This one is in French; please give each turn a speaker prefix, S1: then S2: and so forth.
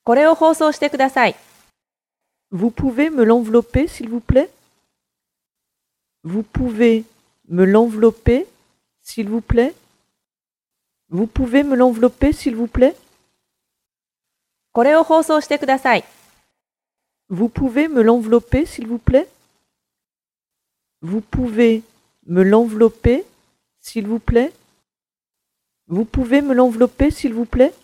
S1: これを放送してください。
S2: Vous pouvez me l'envelopper, s'il vous plaît? Vous pouvez me l'envelopper, s'il vous plaît? Vous pouvez me l'envelopper, s'il vous plaît?
S1: これを放送してください。
S2: Vous pouvez me l'envelopper, s'il vous plaît? Vous pouvez me l'envelopper, s'il vous plaît? Vous pouvez me l'envelopper, s'il vous plaît?